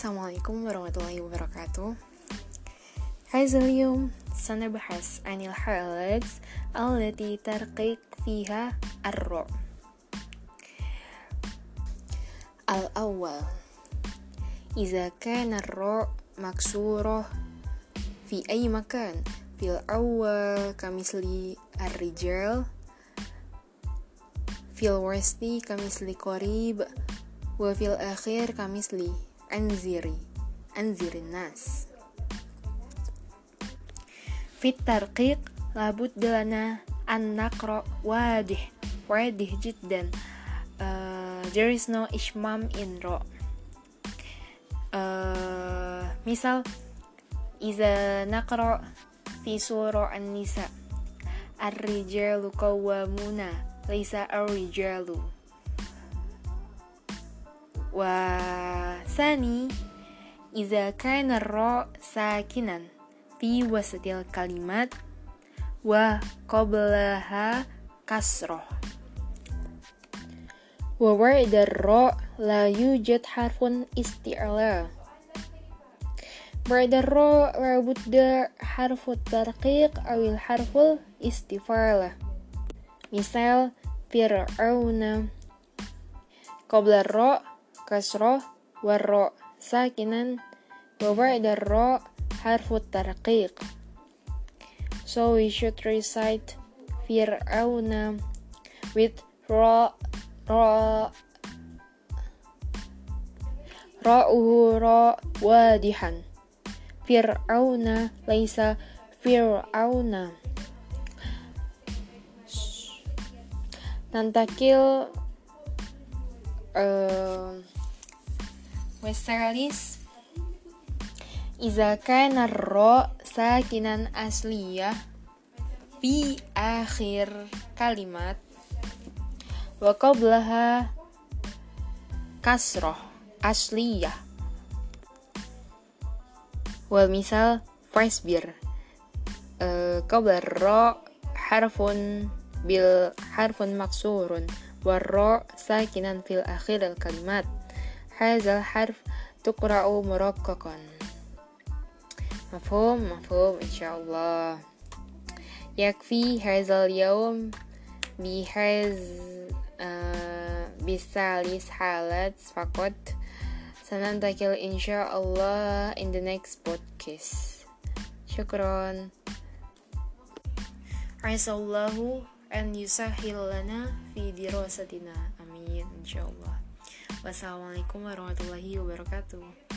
Assalamualaikum warahmatullahi wabarakatuh. هذا اليوم سنبحث عن الحالات التي ترقق فيها الراء. الأول، إذا كان الراء مكسورة في أي مكان، في الأول كمثل الرجال، في الوسط كمثل قريب، وفي الأخير كمثل أنذر الناس. في الترقيق لابد لنا أن نقرأ واضح جدا. There is no ishmam in ra. مثال، إذا نقرأ في سورة النساء الرجال قوامون ليس الرجال. وثاني، إذا كان الراء ساكنا في وسط الكلمات وقبلها كسرة، وبعد الراء لا يوجد حرف استعلاء. بعد الراء لابد حرف الترقيق أو الحرف الاستفالة. مثال، فرعون، قبل الراء كسرة والراء ساكنا وبعد الراء حرف الترقيق. So we should recite فرعون with راءه راء واضحا. فرعون ليس فرعون. ننتقل والثالث، إذا كان الراء ساكنا أصلية في آخر كلمات وقبلها كسرة أصلية. والمثال فاصبر، قبل الراء حرف مكسور والراء ساكنا في الأخير الكلمات. هذا الحرف تقرأ مرققا. مفهوم إن شاء الله. يكفي هذا اليوم بثلاث حالات فقط. سننتقل إن شاء الله in the next podcast. شكرا. عسى الله أن يسهل لنا في دراستنا. آمين إن شاء الله. Wassalamualaikum warahmatullahi wabarakatuh.